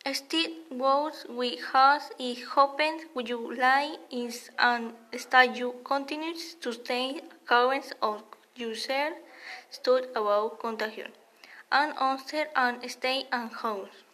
Still works with us is hoping you like is and that you continue to stay current of yourself stood about contagion and answer and stay at home.